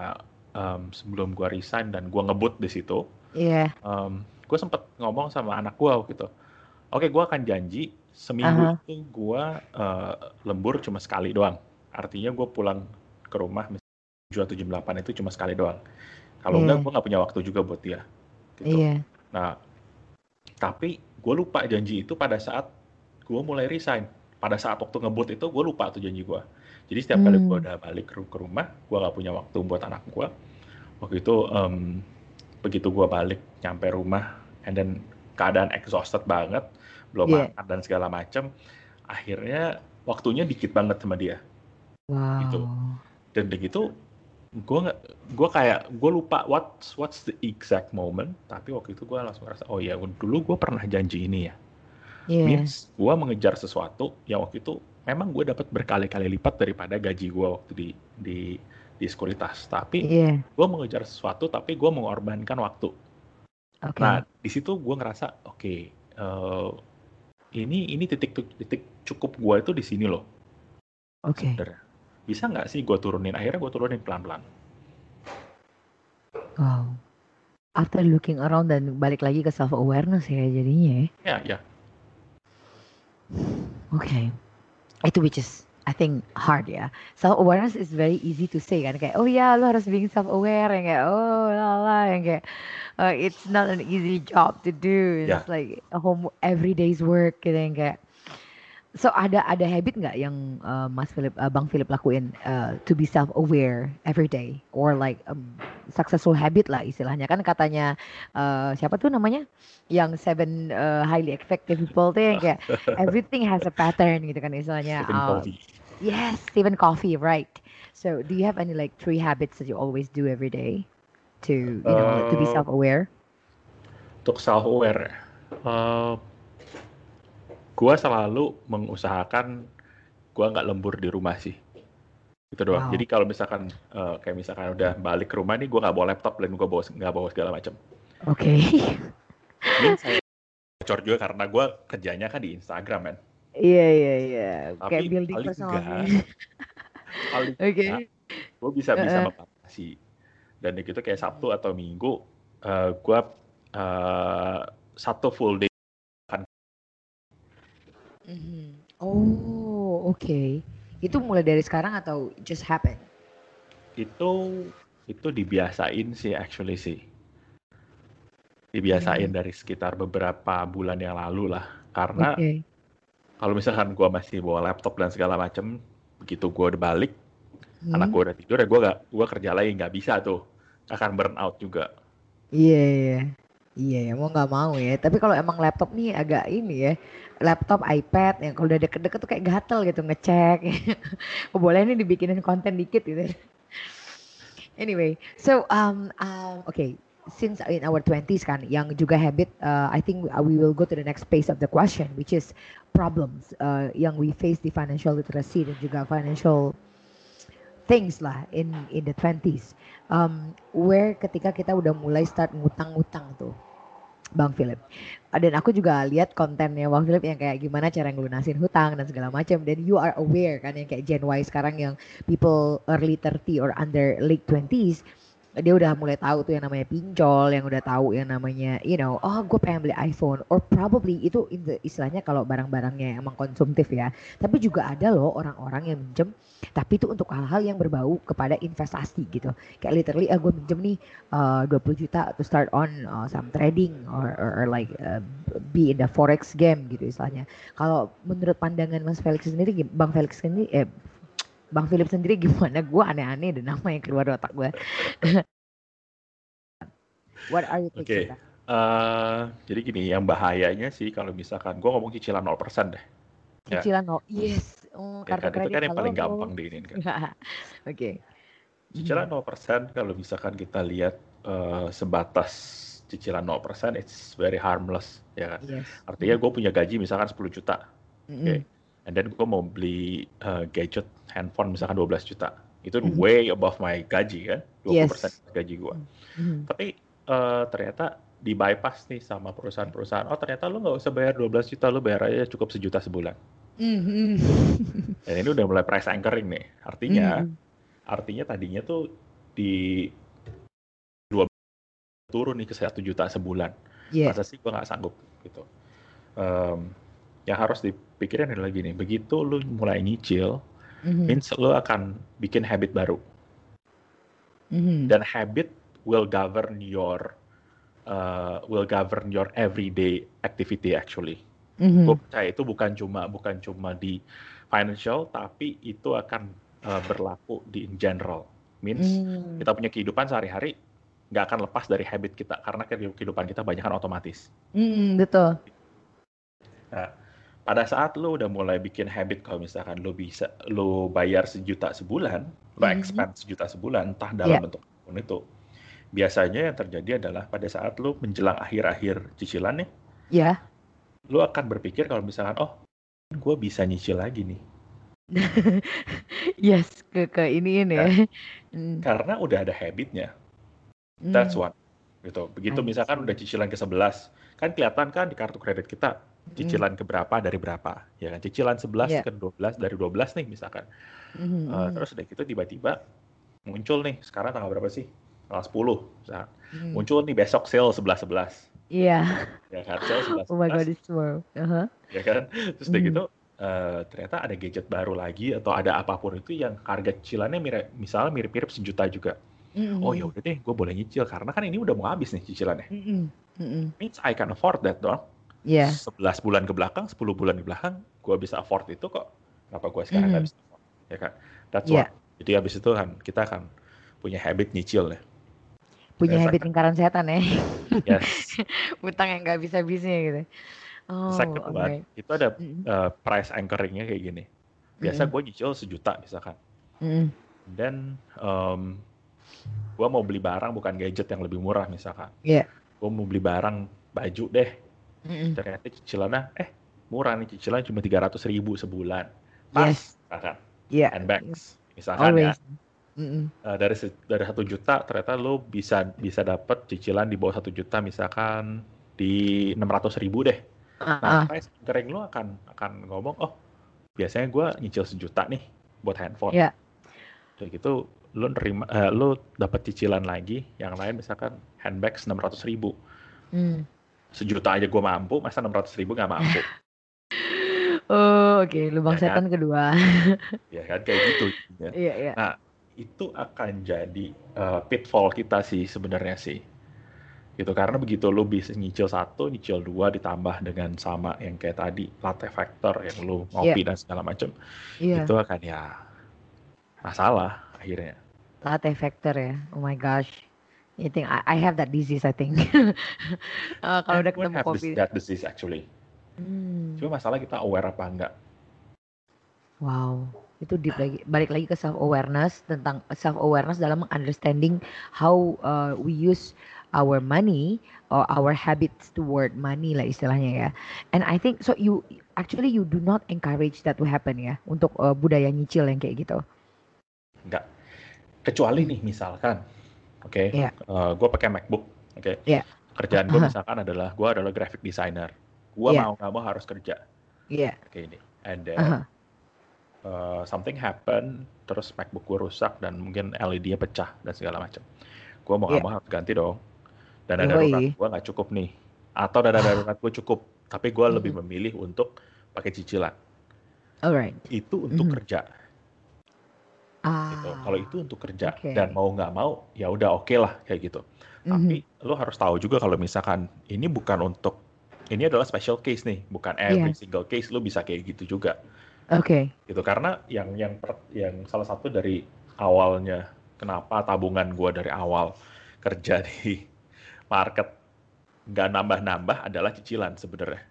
gua resign dan gua ngebut di situ, Iya. gue sempet ngomong sama anak gua gitu. Oke, gua akan janji seminggu Aha. itu gua lembur cuma sekali doang. Artinya gue pulang ke rumah misalnya 7 atau jam 8 itu cuma sekali doang. Kalau enggak, Iya. gue nggak punya waktu juga buat dia gitu. Iya. Nah, tapi gue lupa janji itu pada saat gue mulai resign. Pada saat waktu ngebut itu gue lupa tuh janji gue. Jadi setiap kali gue Hmm. udah balik ke rumah, gue nggak punya waktu buat anak gue. Waktu itu begitu gue balik nyampe rumah, and then keadaan exhausted banget, belum Iya. makan dan segala macem, akhirnya waktunya dikit banget sama dia gitu. Wow. Dan begitu gue nggak gue lupa what's the exact moment, tapi waktu itu gue langsung ngerasa oh ya dulu gue pernah janji ini ya, Iya. means gue mengejar sesuatu yang waktu itu memang gue dapat berkali-kali lipat daripada gaji gue waktu di di sekuritas, tapi Iya. gue mengejar sesuatu tapi gue mengorbankan waktu. Nah Oke. di situ gue ngerasa oke, ini titik titik cukup gue itu di sini loh Oke. sebenarnya. Bisa nggak sih gue turunin? Akhirnya gue turunin pelan-pelan. Wow. After looking around dan balik lagi ke self awareness ya jadinya ya. Ya ya. Oke. Itu which is I think hard ya. Self awareness is very easy to say kan kayak oh ya lo harus being self aware yang kayak oh lah yang kayak it's not an easy job to do. Ya. It's like a home every day's work gitu yang kayak. So ada habit nggak yang Bang Philip lakuin to be self aware every day or like successful habit lah istilahnya kan katanya siapa tuh namanya yang seven highly effective people tuh yang kayak everything has a pattern gitu kan istilahnya. Stephen Covey. Yes, Stephen Coffee, right? So do you have any like 3 habits that you always do every day to like to be Eh, self aware? untuk self aware, gue selalu mengusahakan gue nggak lembur di rumah sih. Itu doang. Jadi Wow. kalau misalkan kayak misalkan udah balik ke rumah nih, gue nggak bawa laptop dan gue nggak bawa segala macam. Oke. Min saya bocor juga karena gue kerjanya kan di Instagram kan. Iya iya iya. Kayak Tapi building paling personal enggak, brand. paling enggak, Oke. gue bisa bisa Heeh. membatasi. Dan gitu kayak Sabtu atau Minggu, gue satu full day akan Oh, oke. Itu mulai dari sekarang atau just happen? Itu dibiasain sih actually sih. Dibiasain Hmm, dari sekitar beberapa bulan yang lalu lah. Karena oke. kalau misalkan gue masih bawa laptop dan segala macem, begitu gue udah balik, anak Hmm. gue udah tidur ya gue kerja lagi nggak bisa tuh, akan burn out juga. Iya, iya. Iya, ya mau nggak mau ya. Tapi kalau emang laptop nih agak ini ya, laptop, iPad, yang kalau udah deket-deket tuh kayak gatel gitu ngecek. Oh, boleh nih dibikinin konten dikit gitu. Anyway, so okay, since in our twenties kan, yang juga habit, I think we will go to the next phase of the question, which is problems yang we face di financial literacy dan juga financial things lah in the twenties. Where ketika kita udah mulai start ngutang-ngutang tuh, Bang Philip. Dan aku juga lihat kontennya Bang Philip yang kayak gimana cara ngelunasin hutang dan segala macam. Dan you are aware kan yang kayak Gen Y sekarang yang people early 30 or under late 20s, dia udah mulai tahu tuh yang namanya pinjol, yang udah tahu yang namanya, oh gue pengen beli iPhone, or probably itu istilahnya kalau barang-barangnya emang konsumtif ya. Tapi juga ada loh orang-orang yang minjem, tapi itu untuk hal-hal yang berbau kepada investasi gitu. Kayak literally, gue minjem nih 20 juta to start on some trading or like be in the forex game gitu istilahnya. Kalau menurut pandangan Mas Felix sendiri, Bang Felix sendiri, Bang Philip sendiri gimana? Gue aneh-aneh dan nama yang keluar dari otak gue. What are your takes on Oke, that? jadi gini, yang bahayanya sih kalau misalkan gue ngomong cicilan 0% deh, ya. Cicilan no, yes. Oh, Ya kartu kan, itu kredit, kan yang paling halo. gampang diinin kan. Oke. Cicilan Mhm. 0% kalau misalkan kita lihat sebatas cicilan 0%, it's very harmless, ya kan. Yes. Artinya gue punya gaji misalkan 10 juta, oke. Mhm. And then gue mau beli gadget handphone misalkan 12 juta. Itu Mhm. way above my gaji kan, 20% Yes. gaji gue. Mhm. Tapi ternyata di bypass nih sama perusahaan-perusahaan. Oh ternyata lu nggak usah bayar 12 juta, lu bayar aja cukup 1 juta sebulan. Mhm. Dan ini udah mulai price anchoring nih. Artinya, Mhm. tadinya tuh di 2 turun nih ke 1 juta sebulan. Yeah. Masa sih gue nggak sanggup gitu. Em, yang harus dipikirin adalah gini, begitu lu mulai nyicil, Mhm. means lu akan bikin habit baru. Mhm. Dan habit will govern your everyday activity actually. Gue Mhm. percaya itu bukan cuma di financial, tapi itu akan berlaku di in general. Means Mhm. kita punya kehidupan sehari-hari nggak akan lepas dari habit kita karena kehidupan kita banyak kan otomatis. Mhm. Betul. Nah, pada saat lo udah mulai bikin habit kalau misalkan lo bayar 1 juta sebulan, lo Mhm. expand 1 juta sebulan, entah dalam Ya. bentuk apapun itu. Biasanya yang terjadi adalah pada saat lo menjelang akhir-akhir cicilan nih, Ya. lo akan berpikir kalau misalkan, oh, gue bisa nyicil lagi nih. Yes, ke iniin ya. Ya, Mm. karena udah ada habitnya. That's Mm. one. Gitu. Begitu I misalkan udah see. cicilan ke-11, kan kelihatan kan di kartu kredit kita, Mm. cicilan ke berapa dari berapa. Ya kan, cicilan 11 Ya. ke 12 dari 12 nih misalkan. Mhm. Mhm. Terus udah gitu tiba-tiba muncul nih, sekarang tanggal berapa sih? Tanggal 10. Misalkan. Mm. Muncul nih besok sale 11-11. Iya. Ya kan, sale Oh my God, 11-11. it's tomorrow. Uh-huh. Ya kan, terus udah Mm. gitu ternyata ada gadget baru lagi atau ada apapun itu yang harga cicilannya misalnya mirip-mirip 1 juta juga. Oh ya Mm. udah deh, gue boleh nyicil karena kan ini udah mau habis nih cicilannya. Mm. Mm. Means I can afford that dong. Iya. 11 bulan ke belakang, 10 bulan ke belakang, gue bisa afford itu kok. Kenapa gue sekarang nggak Mhm. bisa afford? Ya kan? That's one. Iya. Jadi habis itu kan kita akan punya habit nyicil ya. Punya Dan habit second, lingkaran setan ya. yes. Utang yang nggak bisa habisnya gitu. Oh, Second one, alright. itu ada Mm. price anchoringnya kayak gini. Biasa Mm. gue nyicil 1 juta misalkan. Mm. Dan gue mau beli barang bukan gadget yang lebih murah misalkan. Iya. Gue mau beli barang baju deh. Mm. Ternyata cicilannya, murah nih cicilan cuma 300.000 sebulan. Yes. Tas, misalkan. Iya. Handbags, misalkan ya. Always. Mm. Dari 1 juta ternyata lo bisa dapat cicilan di bawah 1 juta misalkan di 600.000 deh. Nah, Ah. price anchoring lo akan ngomong, oh biasanya gue nyicil 1 juta nih buat handphone. Ya. Kayak gitu lo dapat cicilan lagi yang lain misalkan handbags 600.000. Mm. 1 juta aja gue mampu, masa 600.000 nggak mampu? Oh, oke, lubang ya kan? setan kedua. Ya kan kayak gitu. Ya. Iya, iya. Nah, itu akan jadi pitfall kita sih sebenarnya sih. Gitu karena begitu lu bisa nyicil satu, nyicil dua ditambah dengan sama yang kayak tadi latte factor yang lu Iya, ngopi dan segala macam, itu iya. akan ya masalah akhirnya. Latte factor ya. Oh my gosh. I think I have that disease, I think. Kalau udah Everyone ketemu have kopi. that disease actually. Hmm. Cuma masalah kita aware apa enggak. Wow, itu deep lagi. Balik lagi ke self awareness, tentang self awareness dalam understanding how we use our money or our habits toward money lah istilahnya ya. And I think so you do not encourage that to happen ya untuk budaya nyicil yang kayak gitu. Enggak. Kecuali Hmm. nih misalkan, oke, Ya, gue pakai MacBook, oke. ya, Kerjaan gue misalkan gue adalah graphic designer. Gue ya, mau nggak mau harus kerja. ya. Oke ini. And then Aha, something happen, terus MacBook gue rusak dan mungkin LED-nya pecah dan segala macam. Gue mau nggak ya. mau harus ganti dong. Dana darurat Yoi. gue nggak cukup nih. Atau dana darurat gue cukup, tapi gue lebih Mhm. memilih untuk pakai cicilan. Alright. Itu untuk Mhm. kerja, gitu. Kalau Ah, itu untuk kerja dan oke. mau nggak mau, ya udah oke lah kayak gitu. Mhm. Tapi lo harus tahu juga kalau misalkan ini bukan untuk ini adalah special case nih, bukan every Iya, single case lo bisa kayak gitu juga, oke. gitu. Karena yang salah satu dari awalnya kenapa tabungan gue dari awal kerja di market nggak nambah-nambah adalah cicilan sebenarnya.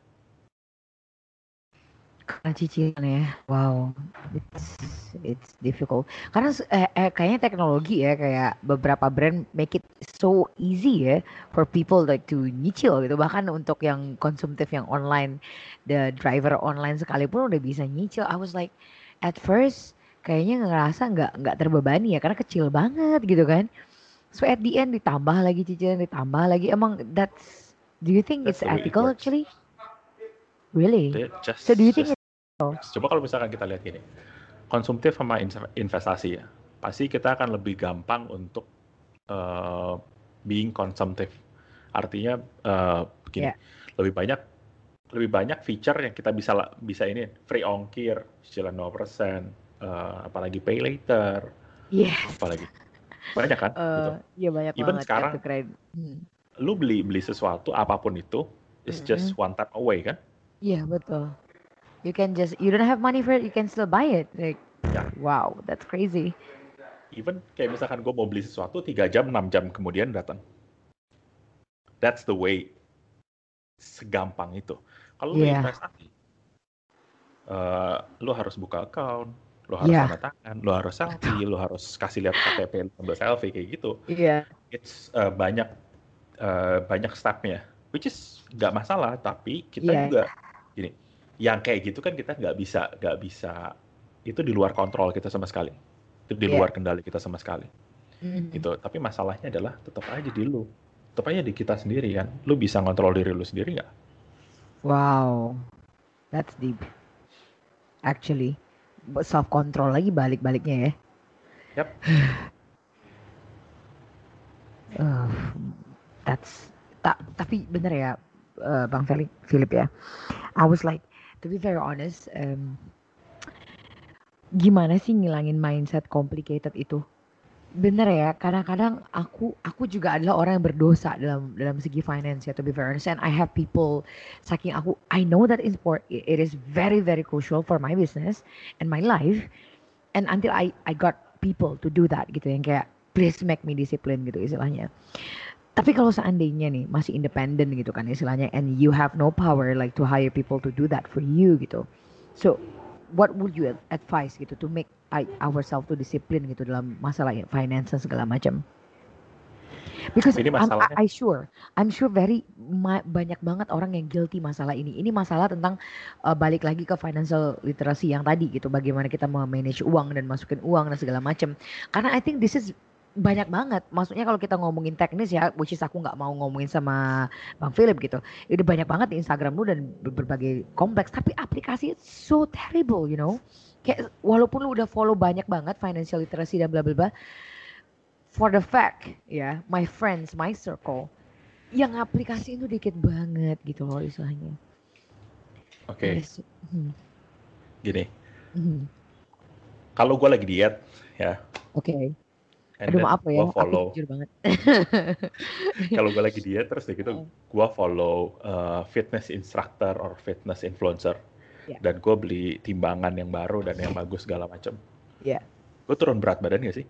Karena cicilan ya, wow, it's difficult. Karena kayaknya teknologi ya, kayak beberapa brand make it so easy ya for people like to nyicil gitu. Bahkan untuk yang konsumtif yang online, the driver online sekalipun udah bisa nyicil. I was like, at first kayaknya ngerasa nggak terbebani ya, karena kecil banget gitu kan. So at the end ditambah lagi cicilan, ditambah lagi. Emang do you think That's it's the way it ethical works. actually? Really? Jadi So do you think just it's ethical? coba kalau misalkan kita lihat gini, konsumtif sama investasi ya, pasti kita akan lebih gampang untuk uh, being konsumtif. Artinya begini, Ya. lebih banyak feature yang kita bisa ini free ongkir, cicilan 0%, apalagi pay later, Yes. apalagi banyak kan gitu. Iya banyak Even banget kartu sekarang kredit. lu beli sesuatu apapun itu is just Mm-mm. one tap away kan? Iya betul. You don't have money for it, you can still buy it. Like, Ya, wow, that's crazy. even kayak misalkan gue mau beli sesuatu 3 jam, 6 jam kemudian datang. That's the way, segampang itu. Kalau lu Iya, investasi, lu harus buka account, lu harus iya, tanda tangan, lu harus selfie, lu harus kasih lihat KTP lu sambil selfie kayak gitu. iya, It's banyak stepnya, which is nggak masalah, tapi kita iya. juga gini, yang kayak gitu kan kita nggak bisa itu di luar kontrol kita sama sekali, itu di Iya. luar kendali kita sama sekali, Mhm. gitu. Tapi masalahnya adalah tetap aja tetap aja di kita sendiri kan, lu bisa ngontrol diri lu sendiri nggak? Wow, that's deep actually. Self control lagi balik-baliknya ya. Yap. Uh, tapi bener ya, Bang Philip ya. I was like, to be very honest, gimana sih ngilangin mindset complicated itu? Bener ya, kadang-kadang aku juga adalah orang yang berdosa dalam dalam segi finance ya, to be very honest. And I have people, saking I know that it is very very crucial for my business and my life. And until I got people to do that gitu, yang kayak please make me discipline gitu istilahnya. Tapi kalau seandainya nih masih independen gitu kan istilahnya, and you have no power like to hire people to do that for you gitu. So what would you advise gitu to make ourselves to discipline gitu dalam masalah finance dan segala macam? Because Ini masalahnya, I'm sure banyak banget orang yang guilty masalah ini. Ini masalah tentang balik lagi ke financial literacy yang tadi gitu. Bagaimana kita manage uang dan masukin uang dan segala macam. Karena I think this is banyak banget. Maksudnya kalau kita ngomongin teknis ya, which is aku nggak mau ngomongin sama Bang Philip gitu. Udah banyak banget di Instagram lu dan berbagai kompleks. Tapi aplikasi it's so terrible, you know. Kayak walaupun lu udah follow banyak banget financial literacy dan bla bla bla, for the fact ya, my friends, my circle, yang aplikasi itu dikit banget gitu loh istilahnya. oke. It is- hmm. Gini, Mhm. kalau gue lagi diet ya, Oke. and Aduh then maaf gue ya, aku follow, jujur banget. kalau gue lagi diet terus kayak gitu, Heeh. gue follow fitness instructor or fitness influencer, Ya, dan gue beli timbangan yang baru dan yang bagus segala macam. ya. Gue turun berat badan gak sih?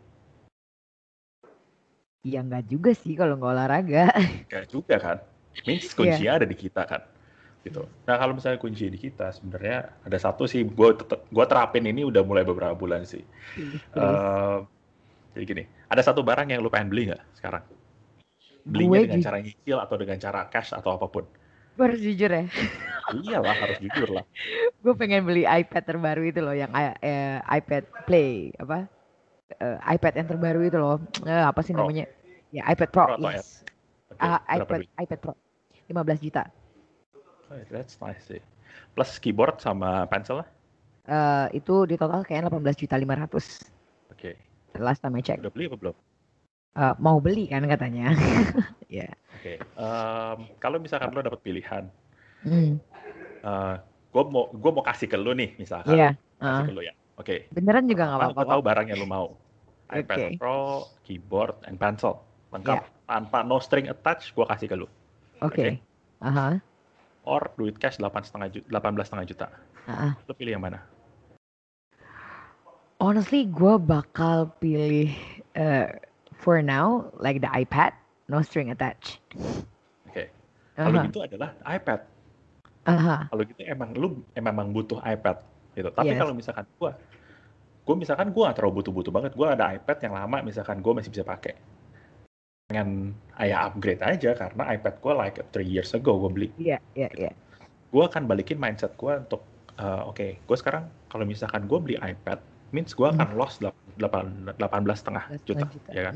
Ya nggak juga sih kalau nggak olahraga. Gak juga kan? Means Iya. kuncinya ada di kita kan? Gitu. Nah kalau misalnya kunci di kita, sebenarnya ada satu sih, gue terapin ini udah mulai beberapa bulan sih. Please, please. Eh, jadi gini, ada satu barang yang lu pengen beli nggak sekarang? Belinya Gue dengan cara nyicil atau dengan cara cash atau apapun? gue harus jujur ya. Iyalah, harus jujur lah. Gue pengen beli iPad terbaru itu loh, yang iPad Play apa? iPad yang terbaru itu loh. Apa sih Pro, namanya? Ya iPad Pro, Pro atau Air? yes. Oke, berapa iPad duit? iPad Pro 15 juta. Oh, that's nice sih. Plus keyboard sama pencil lah. Itu di total kayaknya 18.500.000 Oke, last time I check. udah beli apa belum? Mau beli kan katanya. Ya. Oke, kalau misalkan lo dapat pilihan, Hmm. gue mau kasih ke lo nih, misalkan. Iya. Kasih Heeh. ke lo ya. Oke, Beneran juga nggak apa? apa-apa Gue kok. tahu barang yang lo mau. iPad Oke. Pro, keyboard, and pencil. Ya. Lengkap. Tanpa no string attached, gue kasih ke lo. Oke? Oke. Aha. Or duit cash 18,5 juta. Aha. Lo pilih yang mana? Honestly, gue bakal pilih for now like the iPad, no string attached. Oke. Kalau Aha. gitu adalah iPad. Aha. Kalau gitu lu emang butuh iPad gitu. Tapi Yes. kalau misalkan gue misalkan gue gak terlalu butuh-butuh banget. Gue ada iPad yang lama, misalkan gue masih bisa pakai. Pengen upgrade aja karena iPad gue like 3 years ago gue beli. Iya, iya, Gitu. iya. Gue akan balikin mindset gue untuk oke, gue sekarang kalau misalkan gue beli iPad, means gue akan loss 18,5 juta, juta. ya kan?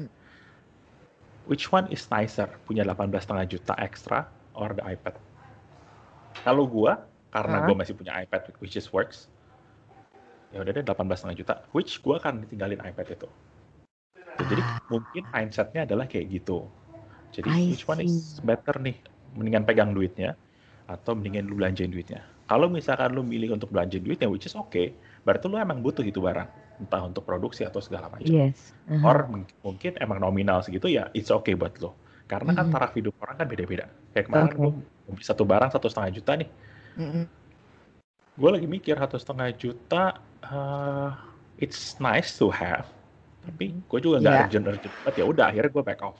Which one is nicer? Punya 18,5 juta extra or the iPad? Kalau gue, karena gue masih punya iPad which is works, ya udah deh 18,5 juta, which gue akan tinggalin iPad itu. Jadi mungkin mindsetnya adalah kayak gitu. Jadi I which one see. is better nih? Mendingan pegang duitnya atau mendingan lu belanjain duitnya. Kalau misalkan lu milih untuk belanjain duitnya, which is okay, berarti lu emang butuh itu barang, entah untuk produksi atau segala macam. Yes. Or mungkin emang nominal segitu ya, it's okay buat lo. Karena kan taraf hidup orang kan beda-beda. Kayak kemarin gue beli satu barang 1,5 juta nih. Gue lagi mikir 1,5 juta, it's nice to have, tapi gue juga nggak urgent banget. Ya udah, akhirnya gue back off.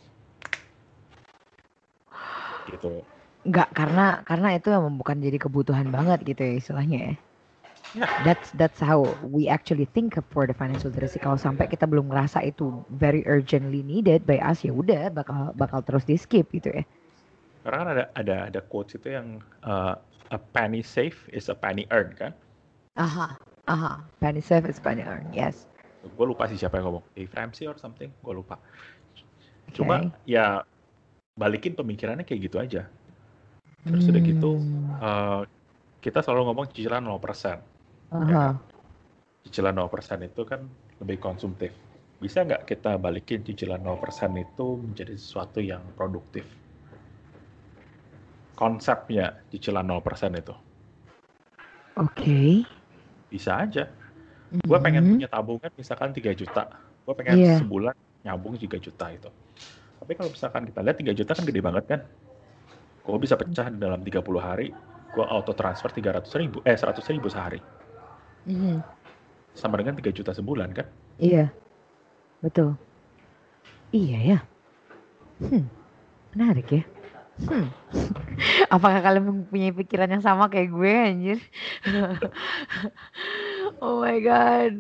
Gitu. Nggak, karena itu emang bukan jadi kebutuhan banget gitu ya istilahnya ya. Yeah. That's how we actually think for the financial literacy. Kalau sampai kita belum ngerasa itu very urgently needed by us, ya udah bakal terus di skip gitu ya. Karena kan ada quotes itu yang a penny saved is a penny earned kan? Penny saved is penny earned. Yes. Gue lupa sih siapa yang ngomong, Dave Ramsey or something, gue lupa. Cuma ya balikin pemikirannya kayak gitu aja. Terus udah gitu, kita selalu ngomong cicilan 0%. Ya kan? Cicilan 0% itu kan lebih konsumtif. Bisa nggak kita balikin cicilan 0% itu menjadi sesuatu yang produktif? Konsepnya cicilan 0% itu. Oke. Bisa aja. Gue pengen punya tabungan misalkan 3 juta. Gue pengen sebulan nyambung 3 juta itu. Tapi kalau misalkan kita lihat 3 juta kan gede banget kan. Gue bisa pecah dalam 30 hari. Gue auto transfer 100.000 sehari. Sama dengan 3 juta sebulan kan? Iya. Betul. Iya ya. Menarik ya. Apakah kalian mempunyai pikiran yang sama kayak gue anjir? Oh my god.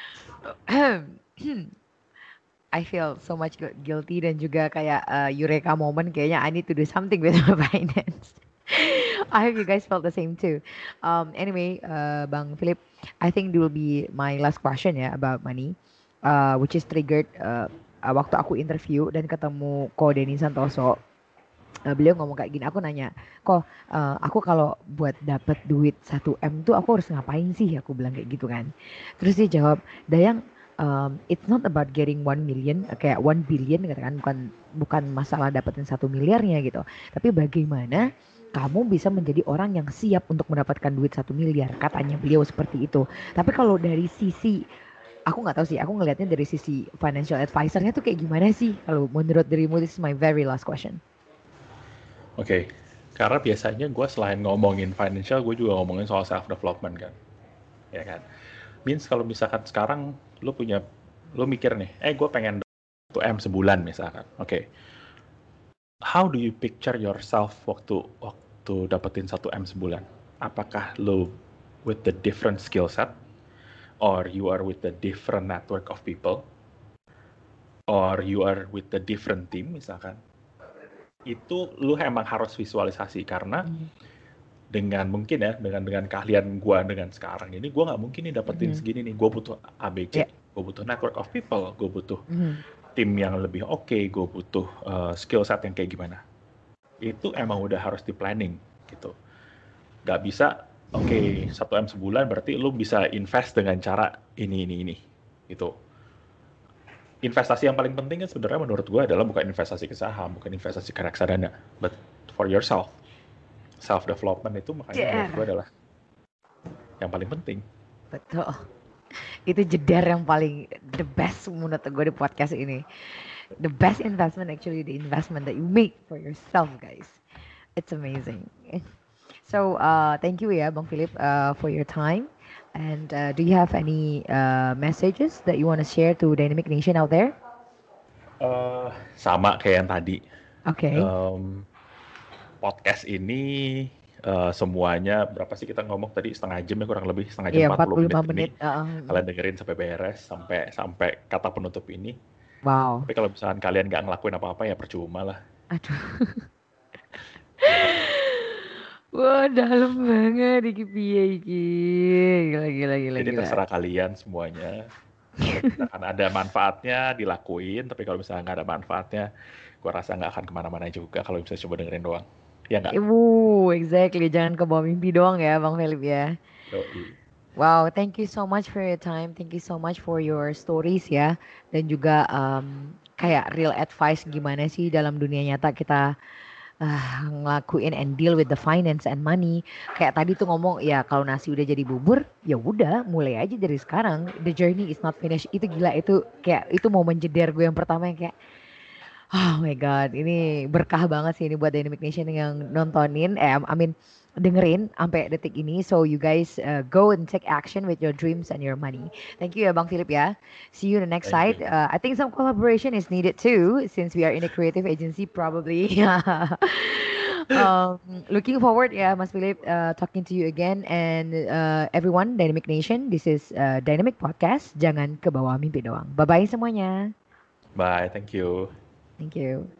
I feel so much guilty dan juga kayak eureka moment, kayaknya I need to do something with my finance. I hope you guys felt the same too. Anyway, Bang Philip, I think it will be my last question ya about money, which is triggered waktu aku interview dan ketemu Ko Denny Santoso. Beliau ngomong kayak gini, aku nanya, kok aku kalau buat dapet duit 1M tuh aku harus ngapain sih? Aku bilang kayak gitu kan. Terus dia jawab, Dayang, it's not about getting 1 million, kayak 1 billion katakan, bukan masalah dapetin 1 miliarnya gitu. Tapi bagaimana kamu bisa menjadi orang yang siap untuk mendapatkan duit 1 miliar, katanya beliau seperti itu. Tapi kalau dari sisi, aku nggak tahu sih, aku ngelihatnya dari sisi financial advisor-nya tuh kayak gimana sih? Kalau menurut dirimu, this is my very last question. Oke, karena biasanya gue selain ngomongin financial, gue juga ngomongin soal self development kan, ya kan. Means kalau misalkan sekarang lu mikir nih, gue pengen 1 M sebulan misalkan. Oke. How do you picture yourself waktu dapetin 1 M sebulan? Apakah lu with the different skill set, or you are with the different network of people, or you are with the different team misalkan? Itu lu emang harus visualisasi, karena dengan mungkin ya dengan keahlian gue dengan sekarang ini, gue nggak mungkin nih dapetin segini nih. Gue butuh ABC, gue butuh network of people, gue butuh tim yang lebih oke, gue butuh skill set yang kayak gimana. Itu emang udah harus di planning gitu. Gak bisa 1 M sebulan berarti lu bisa invest dengan cara ini gitu. Investasi yang paling penting kan sebenarnya menurut gue adalah bukan investasi ke saham, bukan investasi ke reksadana, but for yourself. Self development itu makanya menurut gue adalah yang paling penting. Betul. Itu jedar yang paling the best menurut gue di podcast ini. The best investment actually the investment that you make for yourself, guys. It's amazing. So thank you ya Bang Philip for your time. And do you have any messages that you want to share to Dynamic Nation out there? Sama kayak yang tadi. Oke. Podcast ini semuanya berapa sih kita ngomong tadi, setengah jam ya, kurang lebih setengah jam, Iya, 45 menit. Kalian dengerin sampai beres, sampai kata penutup ini. Wow. Tapi kalau misalkan kalian nggak ngelakuin apa-apa ya percuma lah. Aduh. Wah, dalam banget iki piye iki. Gila. Jadi terserah kalian semuanya. Kalau misalkan ada manfaatnya dilakuin, tapi kalau misalkan nggak ada manfaatnya, gue rasa nggak akan kemana-mana juga kalau bisa coba dengerin doang. Ya nggak? Exactly. Jangan ke bawah mimpi doang ya Bang Philip ya. Yoi. Wow, thank you so much for your time. Thank you so much for your stories ya. Dan juga kayak real advice gimana sih dalam dunia nyata kita ngelakuin and deal with the finance and money. Kayak tadi tuh ngomong ya kalau nasi udah jadi bubur, ya udah mulai aja dari sekarang. The journey is not finished. Itu gila, itu kayak itu momen jeder gue yang pertama yang kayak oh my god, ini berkah banget sih ini buat Dynamic Nation yang nontonin, dengerin sampai detik ini. So you guys go and take action with your dreams and your money. Thank you ya Bang Philip ya. See you in the next side. I think some collaboration is needed too since we are in a creative agency probably. Looking forward ya Mas Philip talking to you again, and everyone Dynamic Nation, this is Dynamic Podcast. Jangan ke bawah mimpi doang. Bye bye semuanya. Bye, thank you. Thank you.